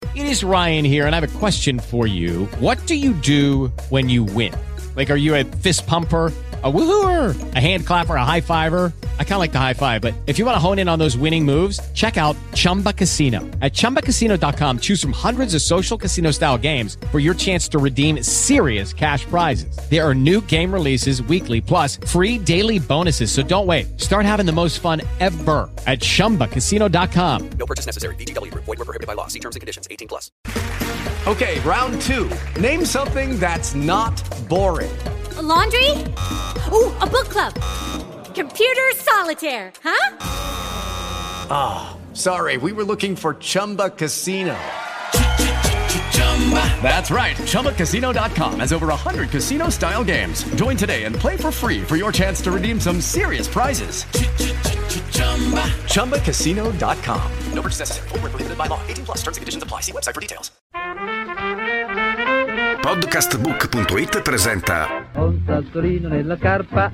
It is Ryan here, and I have a question for you. What do you do when you win? Like, are you a fist pumper, a woohooer, a hand clapper, a high fiver? I kind of like the high five, but if you want to hone in on those winning moves, check out Chumba Casino. At ChumbaCasino.com, choose from hundreds of social casino style games for your chance to redeem serious cash prizes. There are new game releases weekly, plus free daily bonuses. So don't wait. Start having the most fun ever at ChumbaCasino.com. No purchase necessary. VGW Group. Void where prohibited by law. See terms and conditions. 18+. Okay, round two. Name something that's not boring. A laundry? Ooh, a book club. Computer solitaire, huh? Ah, sorry, we were looking for Chumba Casino. That's right, ChumbaCasino.com has over 100 casino-style games. Join today and play for free for your chance to redeem some serious prizes. ChumbaCasino.com. No purchase necessary. Void where prohibited by law. 18+. Terms and conditions apply. See website for details. Podcastbook.it presenta Un sassolino nella scarpa,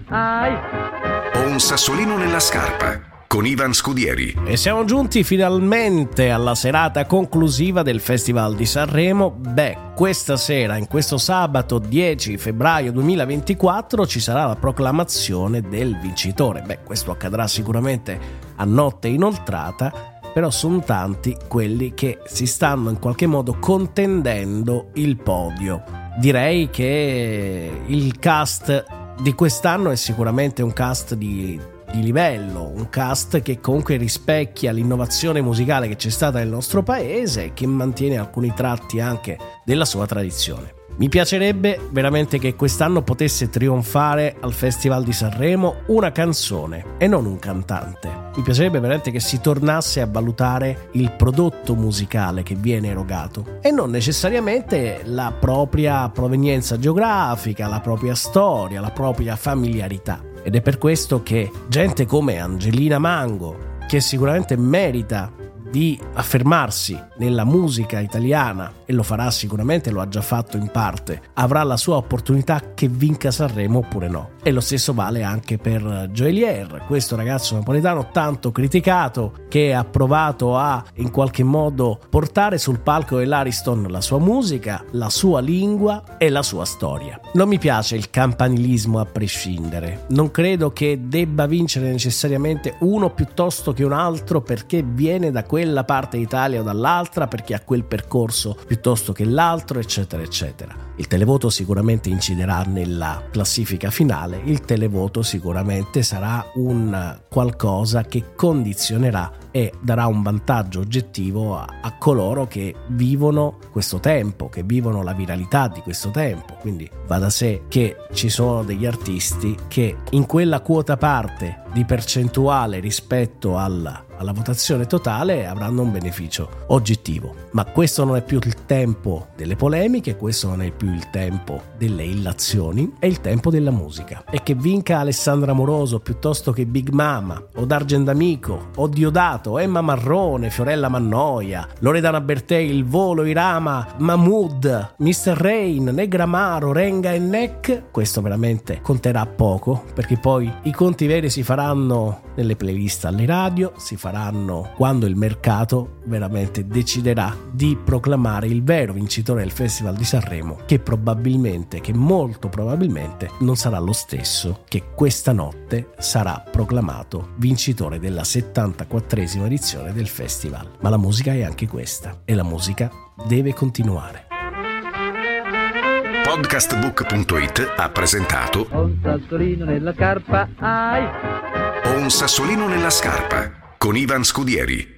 Ho un sassolino nella scarpa con Ivan Scudieri. E siamo giunti finalmente alla serata conclusiva del Festival di Sanremo. Questa sera, in questo sabato 10 febbraio 2024, ci sarà la proclamazione del vincitore. Questo accadrà sicuramente a notte inoltrata, però sono tanti quelli che si stanno in qualche modo contendendo il podio. Direi che il cast di quest'anno è sicuramente un cast di livello, un cast che comunque rispecchia l'innovazione musicale che c'è stata nel nostro paese e che mantiene alcuni tratti anche della sua tradizione. Mi piacerebbe veramente che quest'anno potesse trionfare al Festival di Sanremo una canzone e non un cantante. Mi piacerebbe veramente che si tornasse a valutare il prodotto musicale che viene erogato e non necessariamente la propria provenienza geografica, la propria storia, la propria familiarità. Ed è per questo che gente come Angelina Mango, che sicuramente merita di affermarsi nella musica italiana e lo farà sicuramente, lo ha già fatto in parte, avrà la sua opportunità che vinca Sanremo oppure no. E lo stesso vale anche per Joelier, questo ragazzo napoletano tanto criticato che ha provato a in qualche modo portare sul palco dell'Ariston la sua musica, la sua lingua e la sua storia. Non mi piace il campanilismo a prescindere, non credo che debba vincere necessariamente uno piuttosto che un altro perché viene da quella parte d'Italia o dall'altra, perché ha quel percorso piuttosto che l'altro, eccetera eccetera. Il televoto sicuramente inciderà nella classifica finale, il televoto sicuramente sarà un qualcosa che condizionerà e darà un vantaggio oggettivo a coloro che vivono questo tempo, che vivono la viralità di questo tempo. Quindi va da sé che ci sono degli artisti che in quella quota parte di percentuale rispetto alla votazione totale avranno un beneficio oggettivo. Ma questo non è più il tempo delle polemiche, questo non è più il tempo delle illazioni, è il tempo della musica. E che vinca Alessandra Amoroso piuttosto che Big Mama o D'Argent D'Amico o Diodato, Emma Marrone, Fiorella Mannoia, Loredana Bertè, Il Volo, Irama, Mahmood, Mr. Rain, Negramaro, Renga e Neck, questo veramente conterà poco, perché poi i conti veri si faranno nelle playlist alle radio, si faranno quando il mercato veramente deciderà di proclamare il vero vincitore del Festival di Sanremo, che molto probabilmente non sarà lo stesso che questa notte sarà proclamato vincitore della 74esima edizione del festival. Ma la musica è anche questa e la musica deve continuare. Podcastbook.it ha presentato un sassolino nella scarpa, Ho un sassolino nella scarpa con Ivan Scudieri.